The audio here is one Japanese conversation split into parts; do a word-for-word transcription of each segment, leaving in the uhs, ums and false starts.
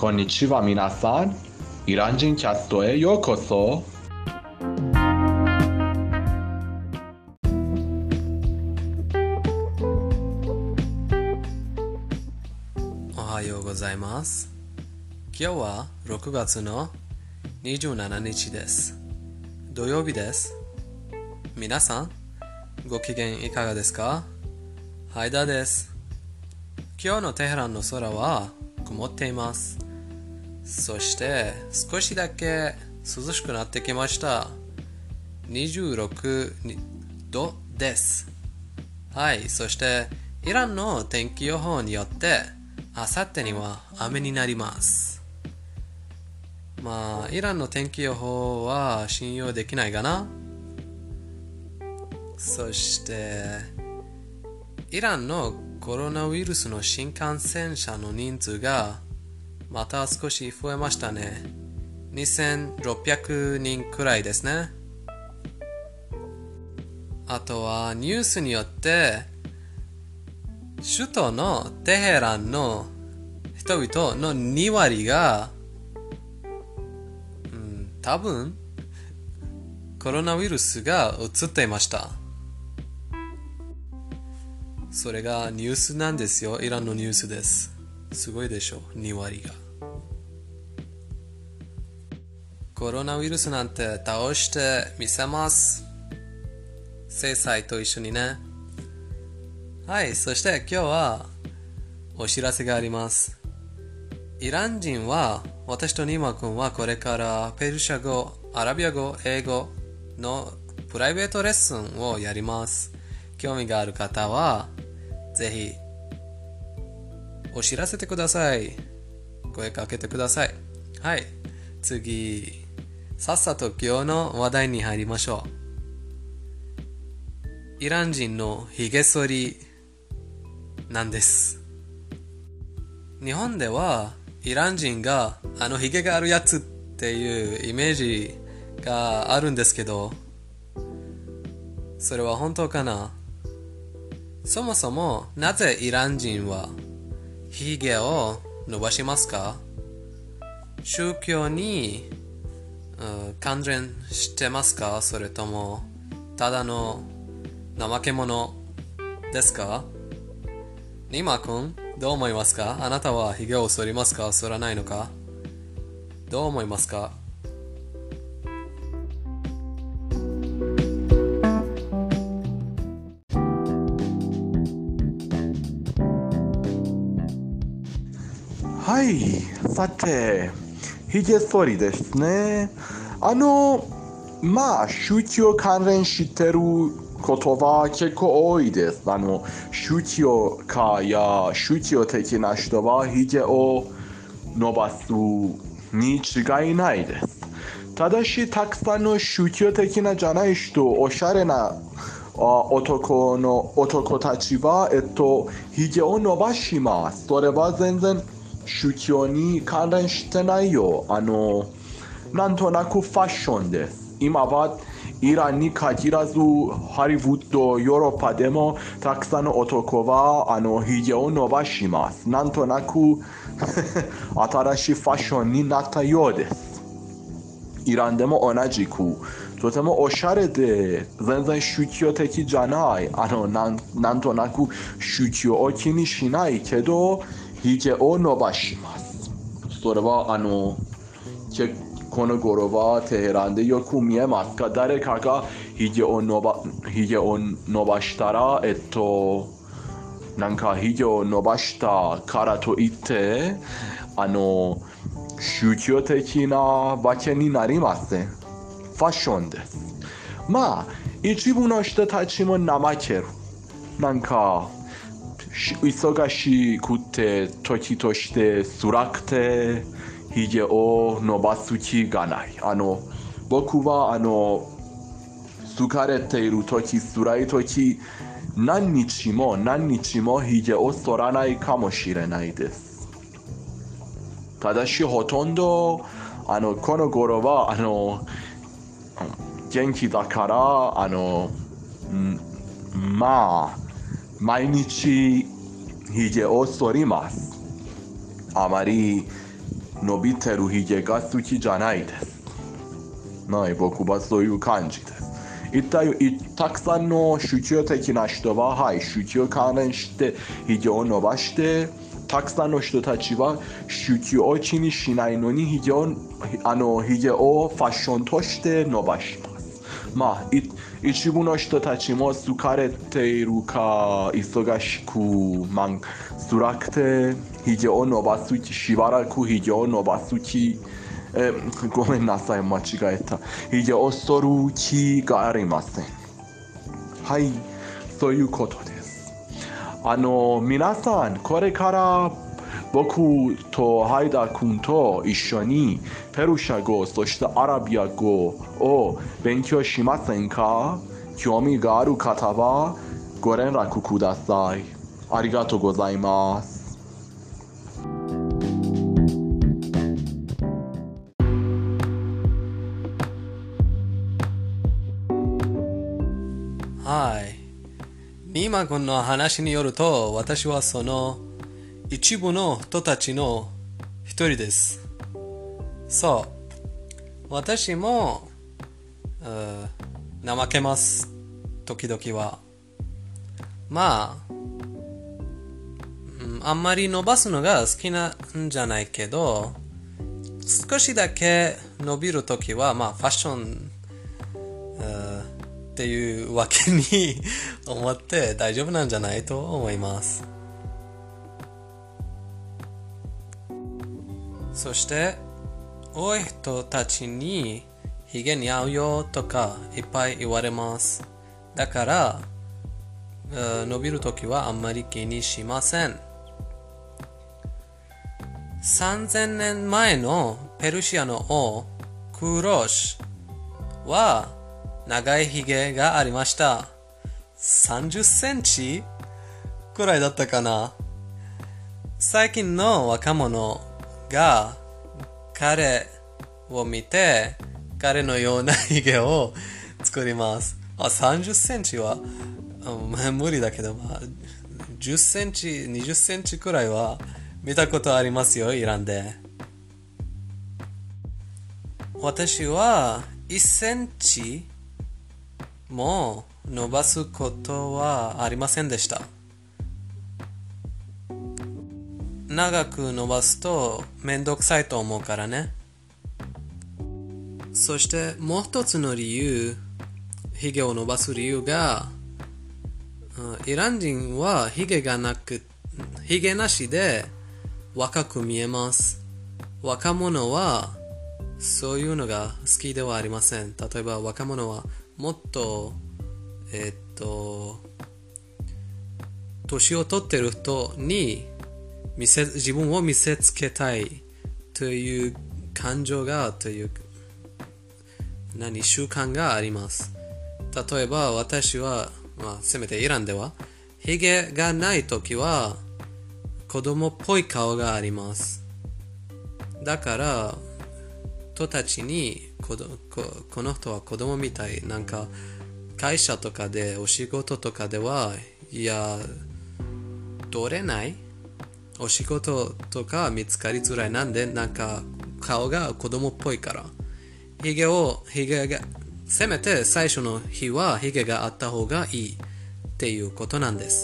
こんにちは皆さん。イラン人キャストへようこそ。 おはようございます。今日はろくがつのにじゅうしちにちです。土曜日です。皆さん、ご機嫌いかがですか？ハイダです。今日のテヘランの空は曇っています。そして少しだけ涼しくなってきました。にじゅうろくどです。はい、そしてイランの天気予報によってあさってには雨になります。まあ、イランの天気予報は信用できないかな。そしてイランのコロナウイルスの新感染者の人数がまた少し増えましたね。にせんろっぴゃくにんくらいですね。あとはニュースによって首都のテヘランの人々のにわりが、うん、多分コロナウイルスが移っていました。それがニュースなんですよ。イランのニュースです。すごいでしょ、にわりが。コロナウイルスなんて倒してみせます。制裁と一緒にね。はい、そして今日はお知らせがあります。イラン人は、私とニーマ君はこれからペルシャ語、アラビア語、英語のプライベートレッスンをやります。興味がある方はぜひお知らせてください。声かけてください。はい、次さっさと今日の話題に入りましょう。イラン人のひげ剃りなんです。日本ではイラン人があのひげがあるやつっていうイメージがあるんですけど、それは本当かな？そもそもなぜイラン人はひげを伸ばしますか？宗教に関連してますか？それともただの怠け者ですか？ニーマ君、どう思いますか？あなたはひげを剃りますか？剃らないのか？どう思いますか？ はい、さて、ひげ剃りですね。あの、まあ、宗教関連してることは結構多いです。あの、宗教家や宗教的な人はひげを伸ばすに違いないです。ただし、たくさんの宗教的なじゃない人、おしゃれな男の男たちは、えっと、ひげを伸ばします。それは全然宗教に関連してないよ。あの、なんとなくファッションです。今はイランに限らずハリウッド、ヨーロッパでもたくさんの男はあのひげを伸ばします。なんとなく新しいファッションになったようです。イランでも同じくとてもおしゃれで全然宗教的じゃない、あのなん、なんとなく宗教を気にしないけどひげを伸ばします。それはあのこの頃はテヘランでよく見えますが、誰かがひげを伸ば、ひげを伸ばしたら、えっと、なんかひげを伸ばしたからといって、あの、宗教的なわけになりません。ファッションです。まあ、一部の人たちも怠ける。なんか、忙しくて時として辛くてひげを伸ばす気がない。あの僕はあの疲れている時、辛い時、何日も何日もひげを剃らないかもしれないです。ただしほとんどあのこの頃はあの元気だからあのまあ毎日ひげを剃ります。あまり伸びてるひげが好きじゃないです。はい、僕はそういう感じです。一体たくさんの宗教的な人は、はい、宗教関連してひげを伸ばして、たくさんの人たちは宗教を気にしないのにひげを、あの、ひげをファッションとして伸ばします。まあ、一部の人たちも疲れているか忙しく、まあ、辛くてひげを伸ばす気、しばらくひげを伸ばす気、えごめんなさい、間違えた。ひげを剃る気がありません。はい、そういうことです。あの、皆さん、これから僕とハイダ君と一緒にペルシャ語、そしてアラビア語を勉強しませんか？興味がある方はご連絡ください。ありがとうございます。 はい。ニーマ君の話によると、私はその一部の人たちの一人です。そう。私も、怠けます。時々は。まあ、うん、あんまり伸ばすのが好きなんじゃないけど、少しだけ伸びるときは、まあ、ファッション、っていうわけに思って大丈夫なんじゃないと思います。そして多い人たちにヒゲに合うよとかいっぱい言われます。だから伸びるときはあんまり気にしません。さんぜんねんまえのペルシアの王クーロシは長いひげがありました。さんじゅっセンチくらいだったかな。最近の若者が彼を見て彼のようなひげを作ります。あ、さんじゅっセンチは、まあ、無理だけど、まあ、じゅっセンチ、にじゅっセンチくらいは見たことありますよ、イランで。私はいっセンチもう伸ばすことはありませんでした。長く伸ばすとめんどくさいと思うからね。そしてもう一つの理由、ヒゲを伸ばす理由が、イラン人はヒゲがなく、ヒゲなしで若く見えます。若者はそういうのが好きではありません。例えば若者はもっと、えー、っと、年を取ってる人に見せ、自分を見せつけたいという感情が、という、何、習慣があります。例えば私は、まあ、せめてイランでは、ヒゲがないときは子供っぽい顔があります。だから、人たちにこ, こ, この人は子供みたい、なんか会社とかでお仕事とかではいや取れないお仕事とか見つかりづらい。なんでなんか顔が子供っぽいから、ヒゲをヒゲがせめて最初の日はヒゲがあった方がいいっていうことなんです。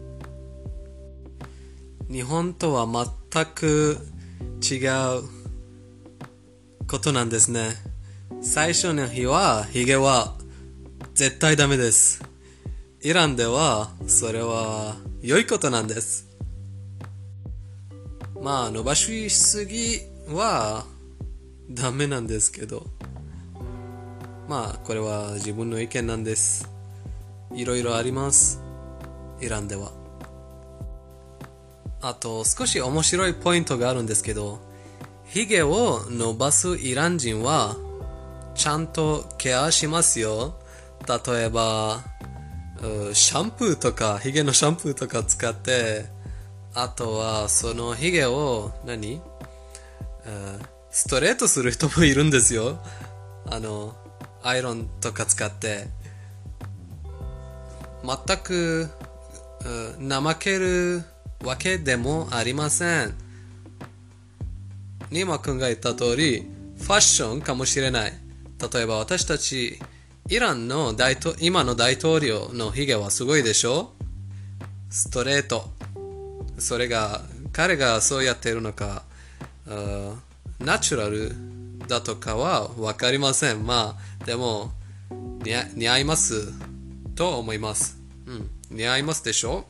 日本とは全く違うことなんですね。最初の日はヒゲは絶対ダメです。イランではそれは良いことなんです。まあ伸ばしすぎはダメなんですけど、まあこれは自分の意見なんです。いろいろあります、イランでは。あと少し面白いポイントがあるんですけど、ヒゲを伸ばすイラン人はちゃんとケアしますよ。例えばシャンプーとかヒゲのシャンプーとか使って、あとはそのヒゲを何ストレートする人もいるんですよ。あのアイロンとか使って。全く怠けるわけでもありません。 ニーマ君が言った通り、ファッションかもしれない。例えば私たち、イランの大統今の大統領のヒゲはすごいでしょ？ストレート。それが、彼がそうやっているのか、ナチュラルだとかはわかりません。まあ、でも、似合似合いますと思います。うん、似合いますでしょ？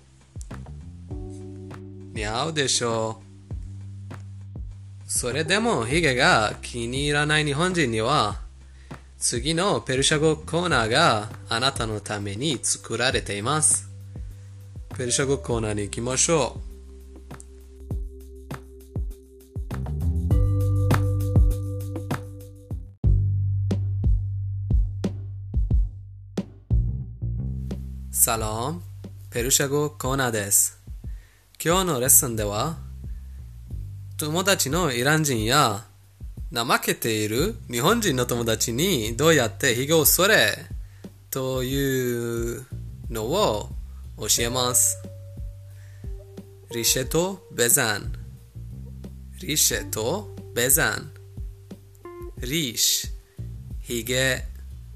似合うでしょう。それでもヒゲが気に入らない日本人には、次のペルシャ語コーナーがあなたのために作られています。ペルシャ語コーナーに行きましょう。サロン、ペルシャ語コーナーです。今日のレッスンでは、友達のイラン人や怠けている日本人の友達にどうやってヒゲを剃れというのを教えます。リシェとベザン。リシェとベザン。リーシ、ヒゲ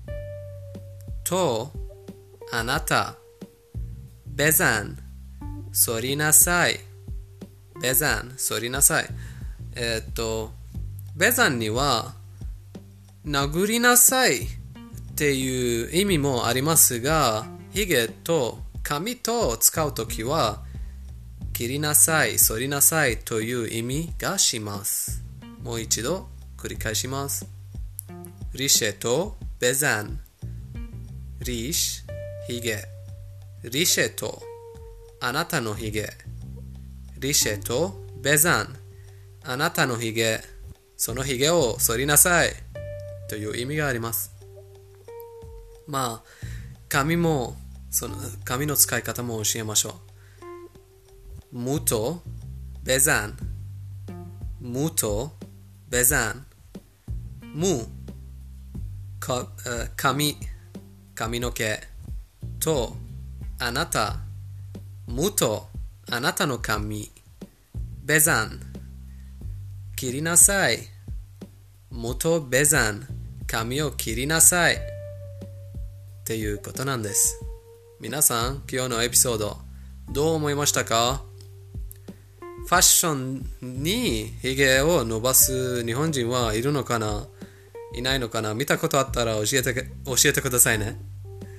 とあなた。ベザン、剃りなさい。ベザン、剃りなさい。えー、っと、ベザンには、殴りなさいっていう意味もありますが、ヒゲと髪と使うときは、切りなさい、剃りなさいという意味がします。もう一度繰り返します。リシェとベザン。リーシ、ヒゲ。リシェとあなたのヒゲ。リシェとベザン。あなたのヒゲ。そのヒゲを剃りなさいという意味があります。まあ、髪も、その髪の使い方も教えましょう。ムとベザン。ムとベザン。ム、か髪、髪の毛とあなた。ムとあなたの髪。ベザン、切りなさい。ムとベザン、髪を切りなさい。っていうことなんです。皆さん、今日のエピソード、どう思いましたか？ファッションにヒゲを伸ばす日本人はいるのかな？いないのかな？見たことあったら教えて、教えてくださいね。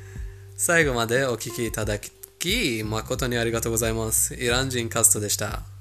最後までお聞きいただき、誠にありがとうございます。イラン人カストでした。